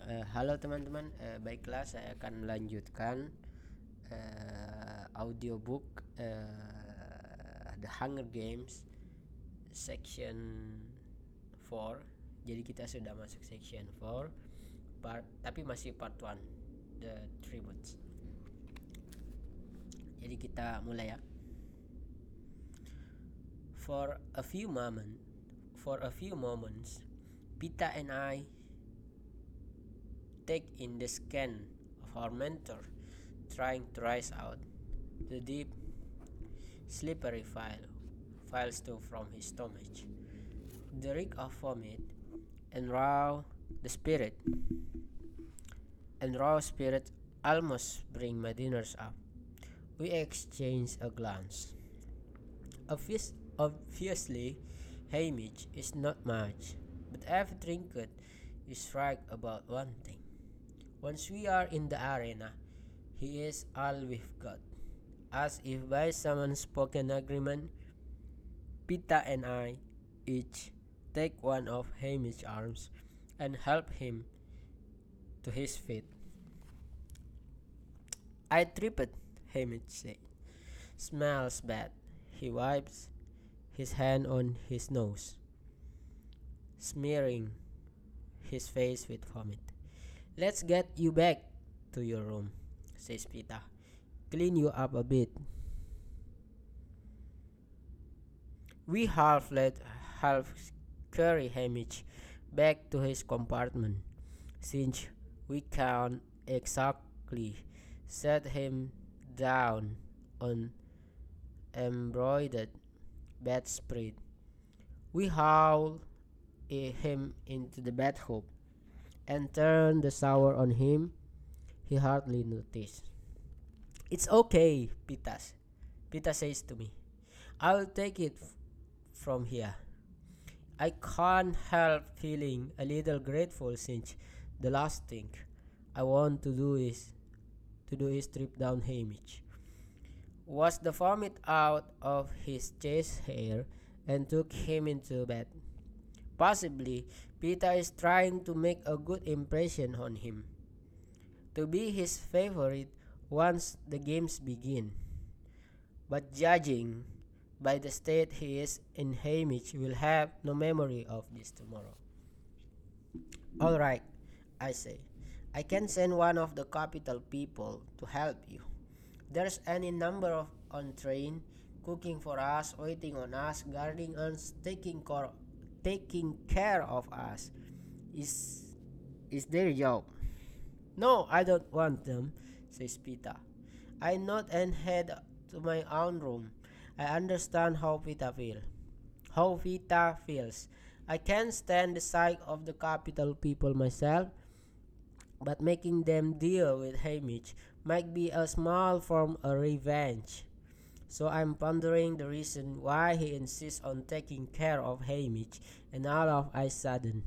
Halo teman-teman, baiklah saya akan melanjutkan audiobook The Hunger Games section 4. Jadi kita sudah masuk section 4 tapi masih part 1, The Tributes. Jadi kita mulai ya. For a few moments, Pita and I take in the scan of our mentor trying to rise out. The deep, slippery files too from his stomach. The reek of vomit and raw spirit almost bring my dinners up. We exchange a glance. Obviously, Hamish is not much, but every trinket is right about one thing. Once we are in the arena, he is all we've got. As if by some unspoken agreement, Pita and I each take one of Hamish's arms and help him to his feet. I tripped, Hamish said. Smells bad. He wipes his hand on his nose, smearing his face with vomit. Let's get you back to your room, says Pita. Clean you up a bit. We half carry Hamish back to his compartment, since we can't exactly set him down on embroidered bedspread. We haul him into the bathtub and turn the shower on him. He hardly noticed. It's okay, Pita says to me. I'll take it from here. I can't help feeling a little grateful since the last thing I want to do is strip down Hamish. Wash the vomit out of his chest hair and took him into bed. Possibly, Pita is trying to make a good impression on him, to be his favorite once the games begin. But judging by the state he is in, Hamish will have no memory of this tomorrow. All right, I say. I can send one of the capital people to help you. There's any number of on train, cooking for us, waiting on us, guarding us, taking care of us. Is their job. No, I don't want them, says Pita. I nod and head to my own room. I understand how Pita feels. I can't stand the sight of the capital people myself, but making them deal with Hamish might be a small form of revenge. So I'm pondering the reason why he insists on taking care of Hamish, and all of a sudden,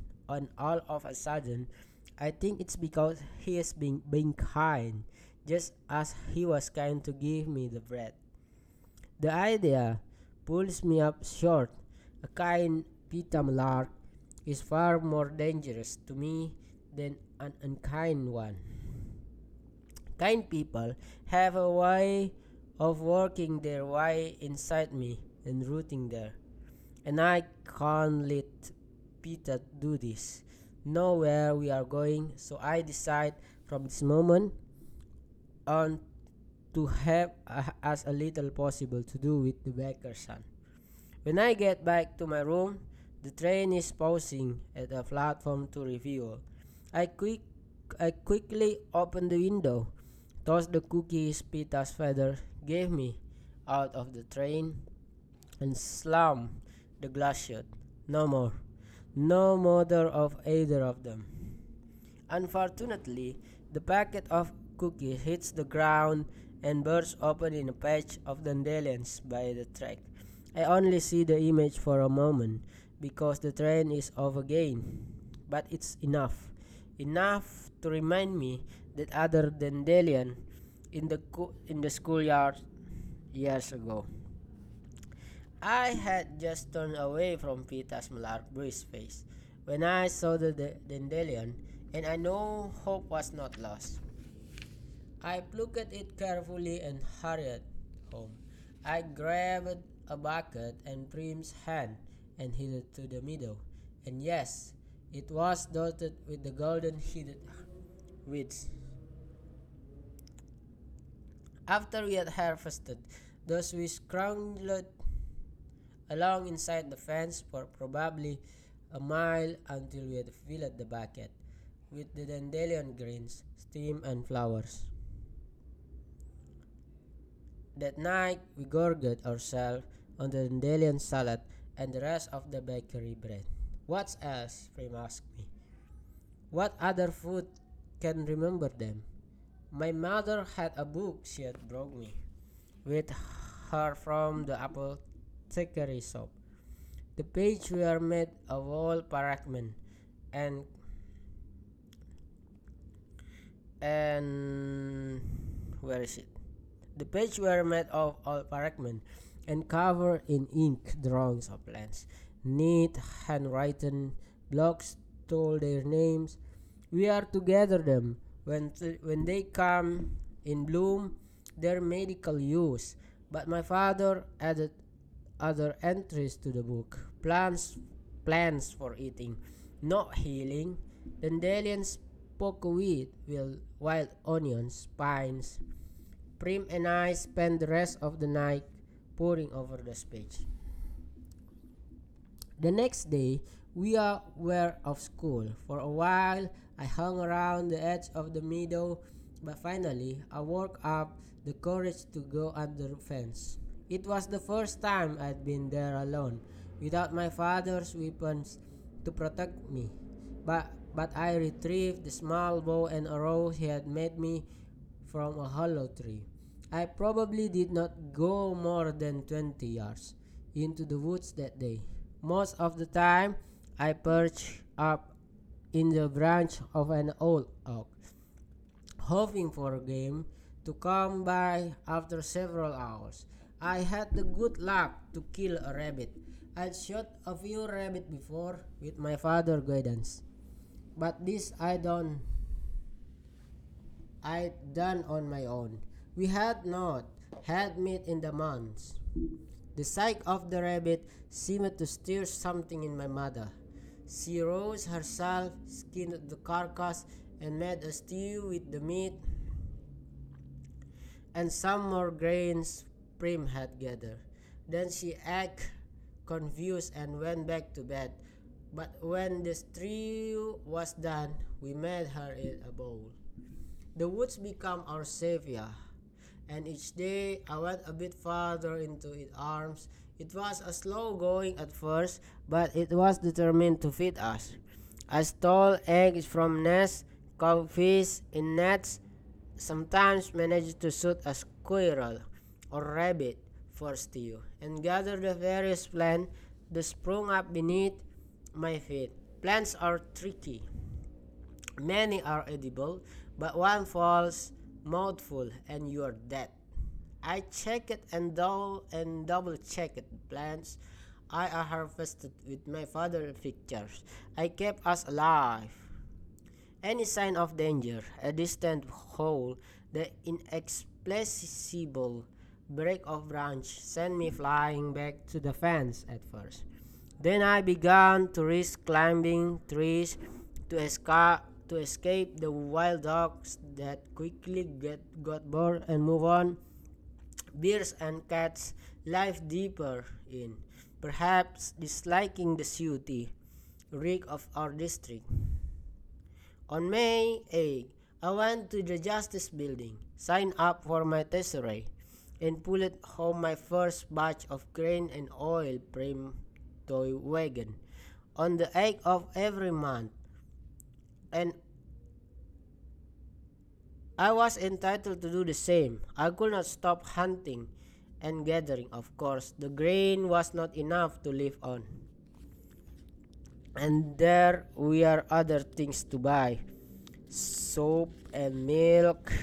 I think it's because he is being kind, just as he was kind to give me the bread. The idea pulls me up short. A kind Pita Malark is far more dangerous to me than an unkind one. Kind people have a way of working their way inside me and rooting there. And I can't let Pita do this. Know where we are going, so I decide from this moment on to have as a little possible to do with the baker's son. When I get back to my room, the train is pausing at a platform to refuel. I quickly open the window, toss the cookies Pita's father gave me out of the train, and slam the glass shut. No more. No mother of either of them. Unfortunately, the packet of cookies hits the ground and bursts open in a patch of dandelions by the track. I only see the image for a moment because the train is off again, but it's enough. Enough to remind me that other dandelion in the schoolyard years ago. I had just turned away from Pita's Malark bruised face when I saw the dandelion. and I know hope was not lost. I plucked it carefully and hurried home. I grabbed a bucket and Prim's hand and headed to the meadow. And yes, it was dotted with the golden headed weeds. After we had harvested those, we scrambled along inside the fence for probably a mile until we had filled the bucket with the dandelion greens, steam, and flowers. That night, we gorged ourselves on the dandelion salad and the rest of the bakery bread. What else? Prim asked me. What other food can remember them? My mother had a book she had brought me with her from the apothecary shop. The pages were made of old parchment and and where is it? The pages were made of old parchment and covered in ink drawings of plants. Neat handwritten blocks told their names. We are to gather them when they come in bloom, their medical use. But my father added other entries to the book. Plants for eating, not healing. Dandelions, pokeweed, wild onions, pines. Prim and I spent the rest of the night poring over the page. The next day, were off school. For a while, I hung around the edge of the meadow, but finally, I worked up the courage to go under the fence. It was the first time I'd been there alone, without my father's weapons to protect me. But I retrieved the small bow and arrow he had made me from a hollow tree. I probably did not go more than 20 yards into the woods that day. Most of the time, I perched up in the branch of an old oak, hoping for game to come by after several hours. I had the good luck to kill a rabbit. I'd shot a few rabbits before with my father's guidance, but this I'd done on my own. We had not had meat in the months. The sight of the rabbit seemed to stir something in my mother. She rose herself, skinned the carcass, and made a stew with the meat and some more grains Prim had gathered. Then she acted confused and went back to bed. But when the stew was done, we made her eat a bowl. The woods became our savior, and each day I went a bit farther into its arms. It was a slow going at first, but it was determined to feed us. I stole eggs from nests, caught fish in nets, sometimes managed to shoot a squirrel or rabbit for stew, and gathered the various plants that sprung up beneath my feet. Plants are tricky. Many are edible, but one falls mouthful and you are dead. I checked and double checked plants I harvested with my father's pictures. I kept us alive. Any sign of danger, a distant howl, the inexplicable break of branch sent me flying back to the fence at first. Then I began to risk climbing trees to escape the wild dogs that quickly got bored and move on. Bears and cats live deeper in, perhaps disliking the sooty reek of our district. On May 8, I went to the Justice Building, signed up for my tesoré, and pulled home my first batch of grain and oil from toy wagon on the 8th of every month, and I was entitled to do the same. I could not stop hunting and gathering. Of course, the grain was not enough to live on, and there were other things to buy: soap and milk,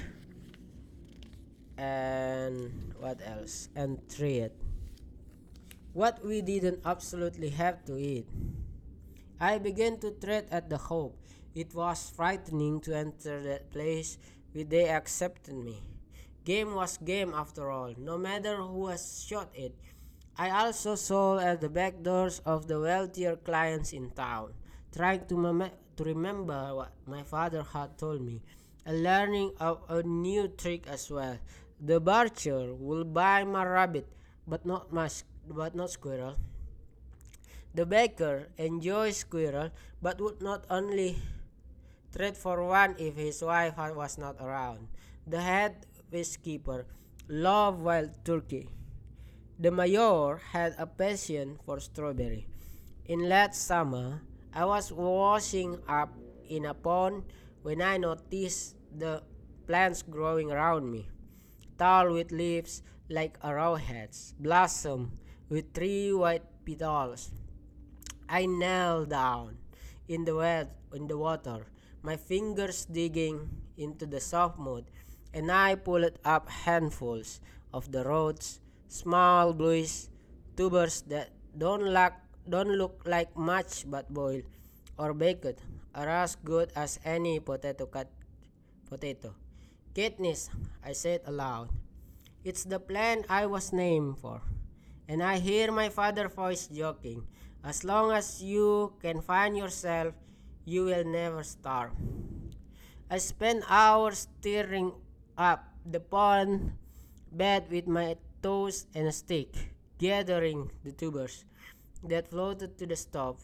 and what else? And treat. What we didn't absolutely have to eat. I began to tread at the hope. It was frightening to enter that place where they accepted me. Game was game after all, no matter who has shot it. I also sold at the back doors of the wealthier clients in town, trying to remember what my father had told me, and learning of a new trick as well. The butcher will buy my rabbit, but not squirrel. The baker enjoys squirrel, but would not only trade for one if his wife was not around. The head keeper loved wild turkey. The mayor had a passion for strawberry. In late summer, I was washing up in a pond when I noticed the plants growing around me, tall with leaves like arrowheads, blossom with three white petals. I knelt down in the water, my fingers digging into the soft mud, and I pulled up handfuls of the roots, small bluish tubers that don't look like much but boiled or baked are as good as any potato. Katniss, I said aloud. It's the plant I was named for. And I hear my father's voice joking. As long as you can find yourself, you will never starve. I spent hours stirring up the pond bed with my toes and a stick, gathering the tubers that floated to the stove.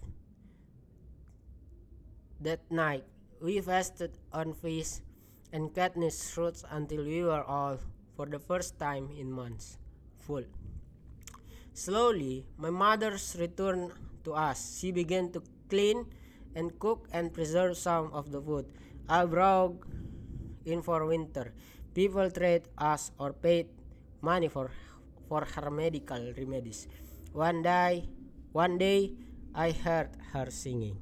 That night, we fasted on fish and Katniss fruits until we were all, for the first time in months, full. Slowly, my mother's returned to us. She began to clean and cook and preserve some of the food I brought in for winter. People trade us or paid money for her medical remedies. One day, I heard her singing.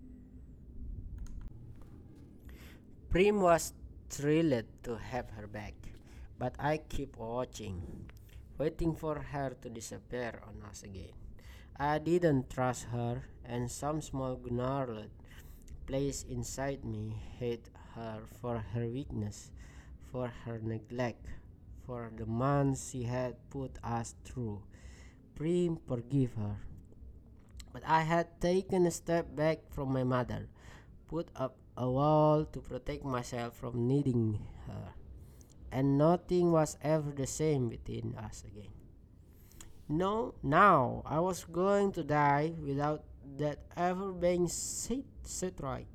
Prim was thrilled to have her back, but I kept watching, waiting for her to disappear on us again. I didn't trust her, and some small gnarled place inside me hate her for her weakness, for her neglect, for the months she had put us through. Prim forgive her. But I had taken a step back from my mother, put up a wall to protect myself from needing her, and nothing was ever the same between us again. No, now I was going to die without that ever being said right.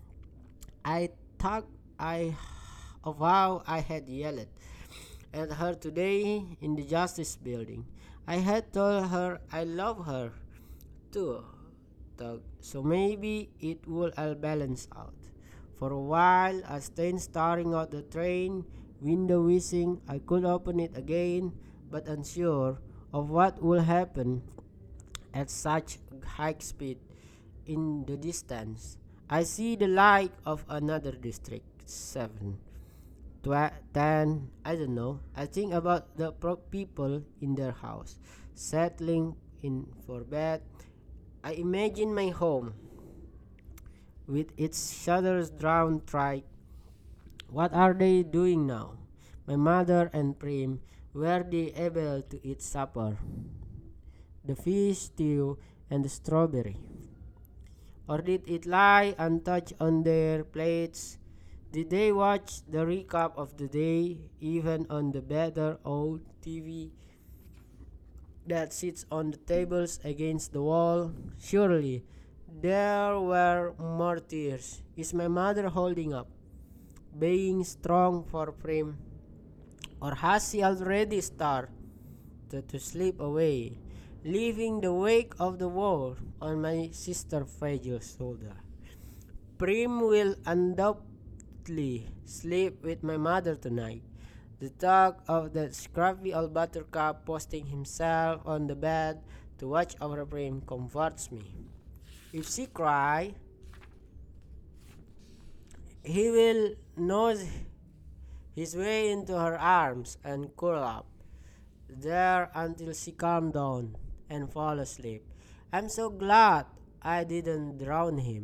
I thought I of how I had yelled at her today in the Justice Building. I had told her I love her too, Doug, so maybe it would all balance out. For a while, I stayed staring out the train window, wishing I could open it again, but unsure of what would happen at such high speed. In the distance, I see the light of another district. 7, 10, I don't know. I think about the people in their house, settling in for bed. I imagine my home, with its shutters drawn tight. What are they doing now? My mother and Prim, were they able to eat supper, the fish stew, and the strawberry? Or did it lie untouched on their plates? Did they watch the recap of the day, even on the better old TV that sits on the tables against the wall? Surely there were more tears. Is my mother holding up, being strong for Prim? Or has she already started to slip away, leaving the weight of the world on my sister's fragile shoulder? Prim will undoubtedly sleep with my mother tonight. The thought of that scruffy old buttercup posting himself on the bed to watch over Prim comforts me. If she cries, he will nose his way into her arms and curl up there until she calmed down and fall asleep. I'm so glad I didn't drown him.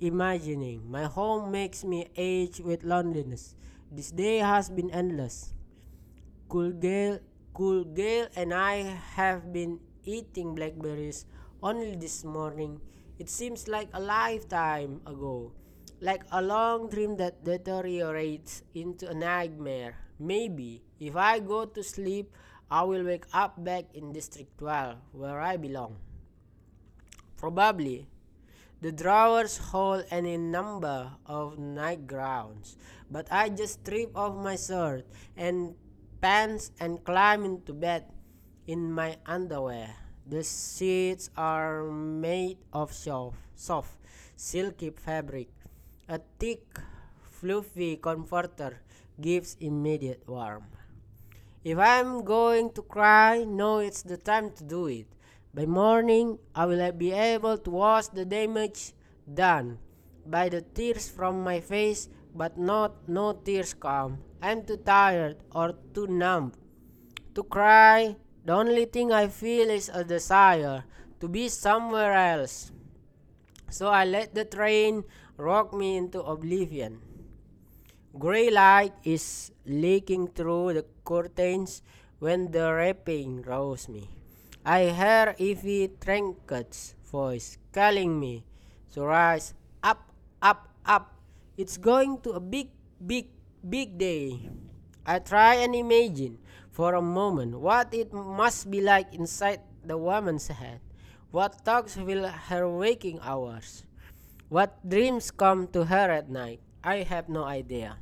imagining. My home makes me age with loneliness. This day has been endless. Cool Gale, Cool Gale and I have been eating blackberries only this morning. It seems like a lifetime ago, like a long dream that deteriorates into a nightmare. Maybe if I go to sleep, I will wake up back in District 12, where I belong. Probably. The drawers hold any number of nightgowns, but I just strip off my shirt and pants and climb into bed in my underwear. The sheets are made of soft, silky fabric. A thick, fluffy comforter gives immediate warmth. If I'm going to cry, no, it's the time to do it. By morning, I will be able to wash the damage done by the tears from my face, but no tears come. I'm too tired or too numb to cry. The only thing I feel is a desire to be somewhere else. So I let the train rock me into oblivion. Gray light is leaking through the curtains when the rapping roused me. I hear Evie Trinket's voice calling me to rise up, up, up. It's going to a big day. I try and imagine for a moment what it must be like inside the woman's head. What thoughts fill her waking hours? What dreams come to her at night? I have no idea.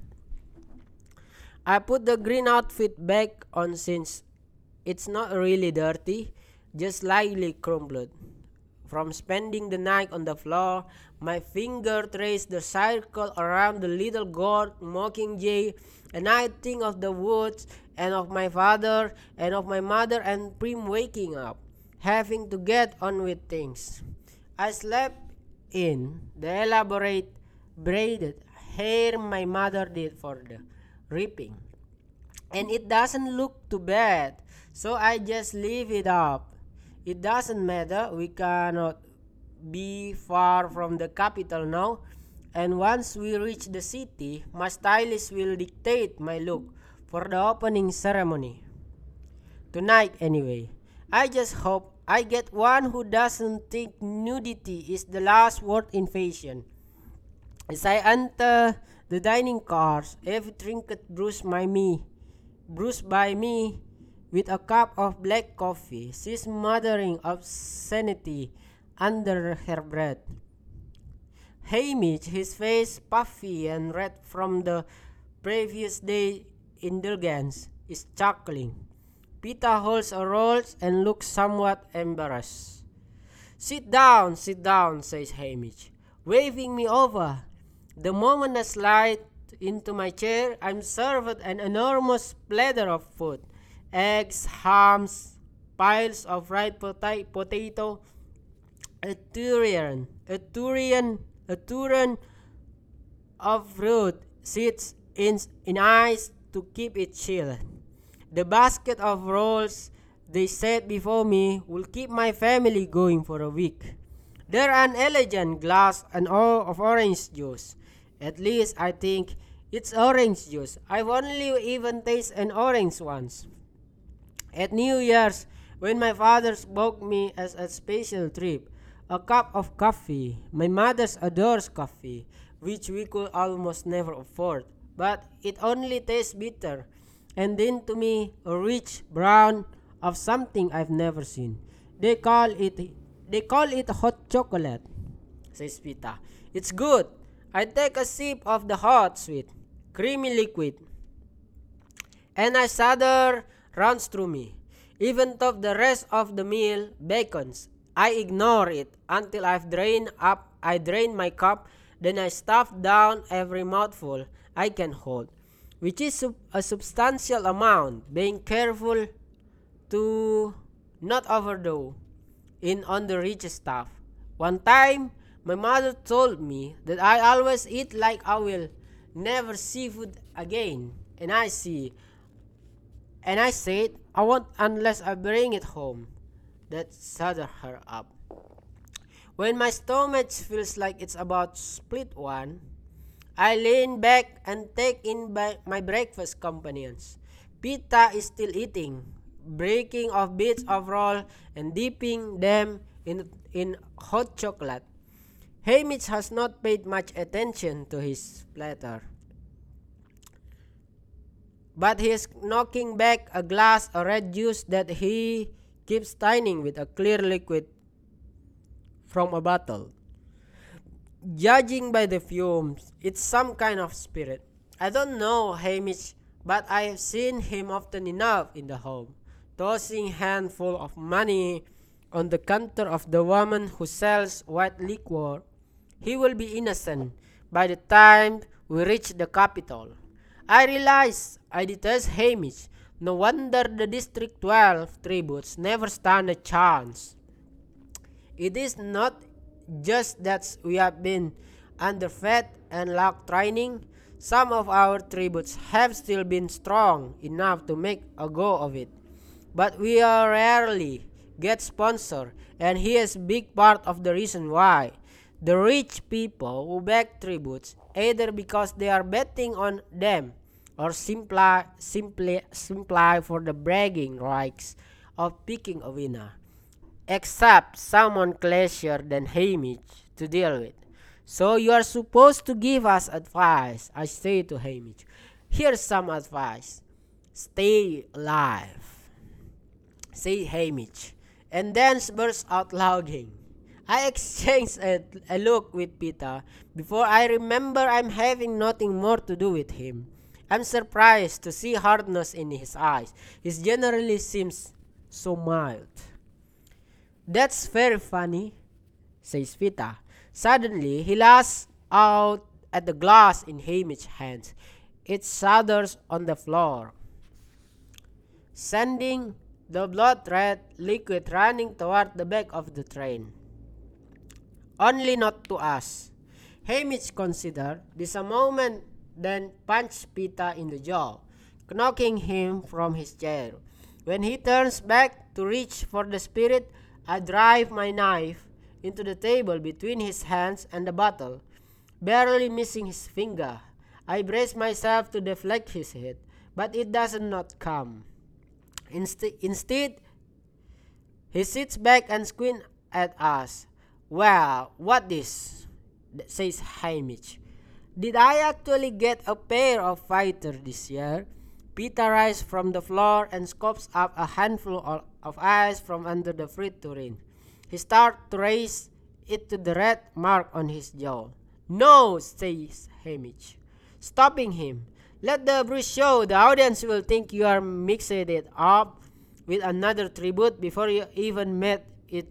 I put the green outfit back on since it's not really dirty, just slightly crumpled. From spending the night on the floor, my finger traced the circle around the little gourd mockingjay, and I think of the woods and of my father and of my mother and Prim waking up, having to get on with things. I slept in the elaborate braided hair my mother did for the reaping, and it doesn't look too bad, so I just leave it up. It doesn't matter, we cannot be far from the capital now, and once we reach the city, my stylist will dictate my look for the opening ceremony. Tonight, anyway. I just hope I get one who doesn't think nudity is the last word in fashion. As I enter the dining cars, every trinket bruised by me with a cup of black coffee. She's muttering obscenity under her breath. Hamish, his face puffy and red from the previous day's indulgence, is chuckling. Pita holds a roll and looks somewhat embarrassed. Sit down, says Hamish, waving me over. The moment I slide into my chair, I'm served an enormous platter of food. Eggs, hams, piles of fried potato, a tureen of fruit sits in ice to keep it chilled. The basket of rolls they set before me will keep my family going for a week. There are an elegant glass of orange juice. At least I think it's orange juice. I've only even tasted an orange once. At New Year's, when my father spoke me as a special treat, a cup of coffee. My mother adores coffee, which we could almost never afford, but it only tastes bitter, and then to me a rich brown of something I've never seen. They call it hot chocolate, says Pita. It's good. I take a sip of the hot, sweet, creamy liquid, and a shudder runs through me. Even though the rest of the meal beckons, I ignore it until I drain my cup, then I stuff down every mouthful I can hold, which is a substantial amount, being careful to not overdo in on the rich stuff. One time, my mother told me that I always eat like I will never see food again, and I said I won't unless I bring it home. That shut her up. When my stomach feels like it's about to split one, I lean back and take in my breakfast companions. Pita is still eating, breaking off bits of roll and dipping them in hot chocolate. Hamish has not paid much attention to his platter, but he is knocking back a glass of red juice that he keeps thinning with a clear liquid from a bottle. Judging by the fumes, it's some kind of spirit. I don't know Hamish, but I have seen him often enough in the home, tossing handful of money on the counter of the woman who sells white liquor. He will be innocent by the time we reach the capital. I realize I detest Hamish. No wonder the District 12 tributes never stand a chance. It is not just that we have been underfed and lack training. Some of our tributes have still been strong enough to make a go of it. But we are rarely get sponsor, and he is a big part of the reason why. The rich people who back tributes either because they are betting on them or simply for the bragging rights of picking a winner. Except someone classier than Hamish to deal with. So you are supposed to give us advice, I say to Hamish. Here's some advice. Stay alive, say Hamish, and then burst out laughing. I exchange a look with Peter before I remember I'm having nothing more to do with him. I'm surprised to see hardness in his eyes. He generally seems so mild. That's very funny, says Peter. Suddenly, he lashes out at the glass in Hamish's hands. It shatters on the floor, sending the blood-red liquid running toward the back of the train. Only not to us. Hamish considered this a moment, then punched Peter in the jaw, knocking him from his chair. When he turns back to reach for the spirit, I drive my knife into the table between his hands and the bottle, barely missing his finger. I brace myself to deflect his hit, but it does not come. Instead, he sits back and squints at us. Well, what this? Says Hamish. Did I actually get a pair of fighter this year? Peter rises from the floor and scoops up a handful of ice from under the fridge tureen. He starts to raise it to the red mark on his jaw. No, says Hamish, stopping him. Let the bruise show. The audience will think you are mixing it up with another tribute before you even met it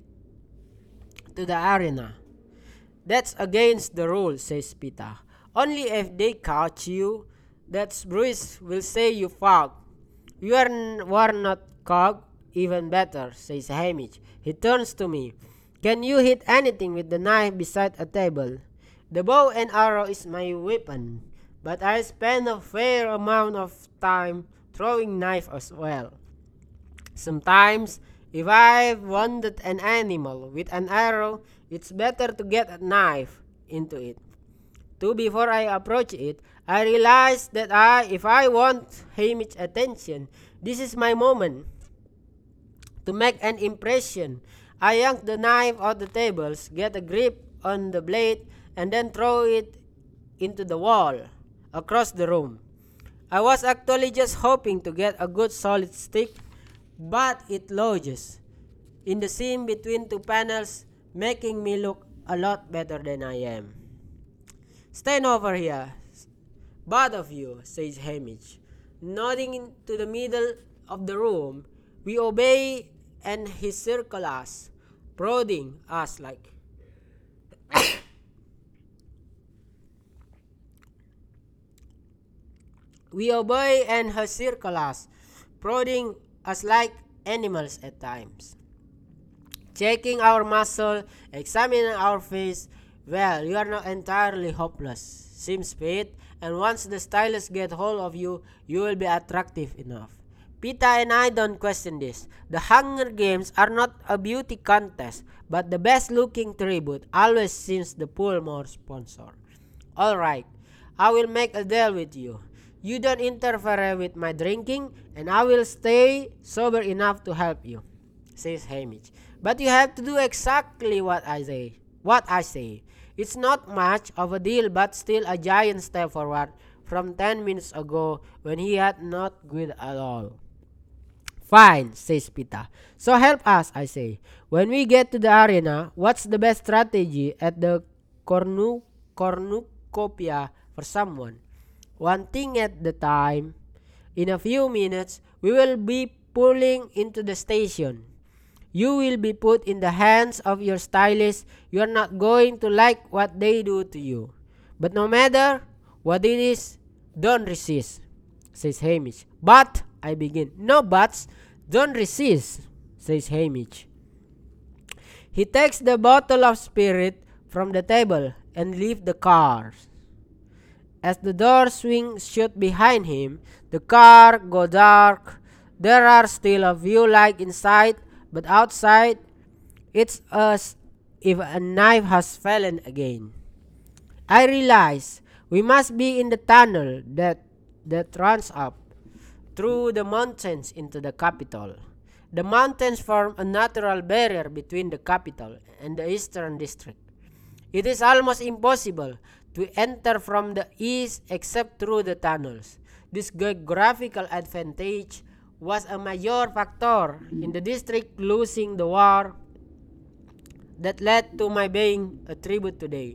to the arena. That's against the rules, says Peter. Only if they catch you. That Bruce will say you fog. You were not cog. Even better, says Hamish. He turns to me. Can you hit anything with the knife beside a table? The bow and arrow is my weapon, but I spend a fair amount of time throwing knife as well. Sometimes, if I've wounded an animal with an arrow, it's better to get a knife into it. Before I approach it, I realize that if I want Hamish's attention, this is my moment to make an impression. I yank the knife off the tables, get a grip on the blade, and then throw it into the wall across the room. I was actually just hoping to get a good solid stick, but it lodges in the seam between two panels, making me look a lot better than I am. Stand over here, both of you, says Hamish. Nodding into the middle of the room, we obey and he circles us, prodding us like we obey and he circles us, prodding us like animals at times. Checking our muscle, examining our face. Well, you are not entirely hopeless, seems Pete, and once the stylists get hold of you, you will be attractive enough. Pita and I don't question this. The Hunger Games are not a beauty contest, but the best looking tribute always seems to pull more sponsor. Alright, I will make a deal with you. You don't interfere with my drinking, and I will stay sober enough to help you, says Hamish. But you have to do exactly what I say. It's not much of a deal, but still a giant step forward from 10 minutes ago when he had not quit at all. Fine, says Pita. So help us, I say. When we get to the arena, what's the best strategy at the cornucopia for someone? One thing at the time. In a few minutes, we will be pulling into the station. You will be put in the hands of your stylist. You are not going to like what they do to you. But no matter what it is, don't resist, says Hamish. But, I begin. No buts. Don't resist, says Hamish. He takes the bottle of spirit from the table and leaves the car. As the door swings shut behind him, the car goes dark. There are still a few lights inside, but outside, it's as if a knife has fallen again. I realize we must be in the tunnel that runs up through the mountains into the capital. The mountains form a natural barrier between the capital and the eastern district. It is almost impossible to enter from the east except through the tunnels. This geographical advantage was a major factor in the district losing the war that led to my being a tribute today.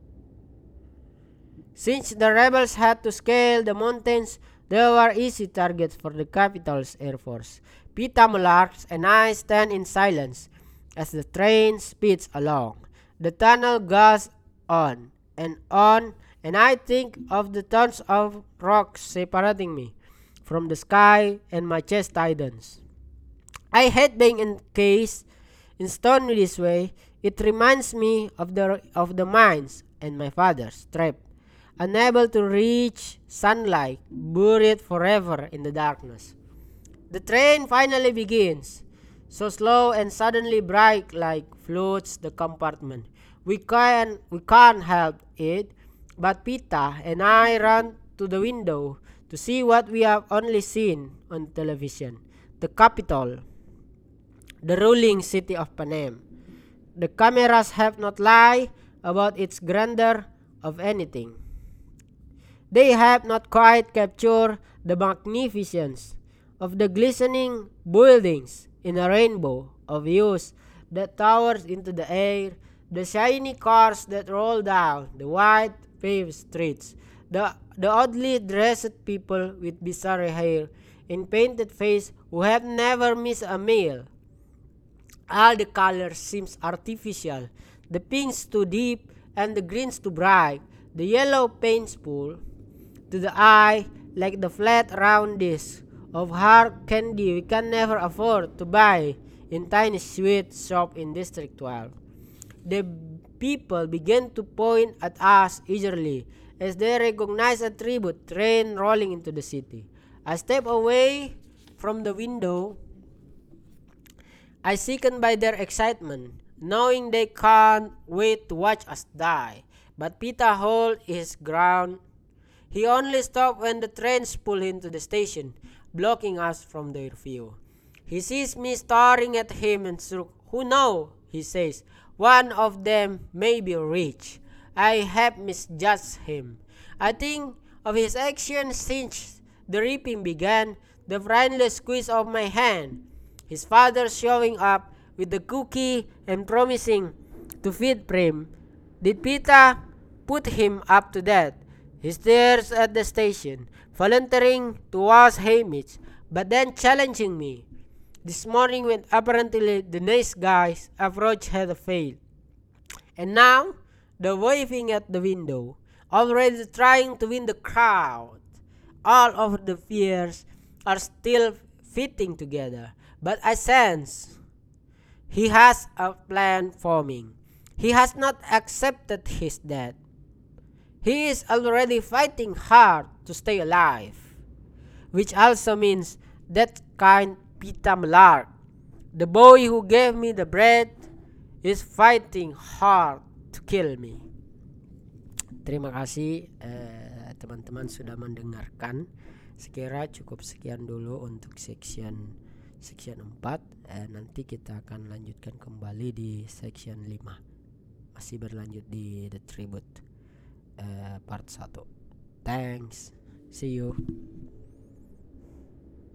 Since the rebels had to scale the mountains, they were easy targets for the capital's air force. Pita Mullars and I stand in silence as the train speeds along. The tunnel goes on, and I think of the tons of rocks separating me from the sky, and my chest tightens. I hate being encased in stone this way. It reminds me of the mines and my father's trap, unable to reach sunlight, buried forever in the darkness. The train finally begins, so slow and suddenly bright like floats the compartment. We can't help it, but Pita and I run to the window to see what we have only seen on television. The capital, the ruling city of Panem. The cameras have not lied about its grandeur of anything. They have not quite captured the magnificence of the glistening buildings in a rainbow of hues that towers into the air, the shiny cars that roll down the white paved streets, the oddly dressed people with bizarre hair and painted face who have never missed a meal. All the colors seems artificial, the pinks too deep and the greens too bright, the yellow painful to the eye like the flat round disc of hard candy we can never afford to buy in tiny sweet shop in District 12. The people began to point at us eagerly as they recognize a tribute train rolling into the city. I step away from the window. I sickened by their excitement, knowing they can't wait to watch us die. But Pita held his ground. He only stopped when the trains pulled into the station, blocking us from their view. He sees me staring at him and shook. Who knows, he says. One of them may be rich. I have misjudged him. I think of his actions since the reaping began, the friendly squeeze of my hand, his father showing up with the cookie and promising to feed Prim. Did Pita put him up to that? He stares at the station, volunteering to wash Hamish, but then challenging me. This morning when apparently the nice guy's approach had failed. And now, the waving at the window, already trying to win the crowd. All of the fears are still fitting together, but I sense he has a plan forming. He has not accepted his death. He is already fighting hard to stay alive, which also means that kind pita melar. The boy who gave me the bread is fighting hard to kill me. Terima kasih teman-teman sudah mendengarkan. Sekira cukup sekian dulu untuk section 4. Nanti kita akan lanjutkan kembali di section 5. Masih berlanjut di The Tribute part 1. Thanks. See you.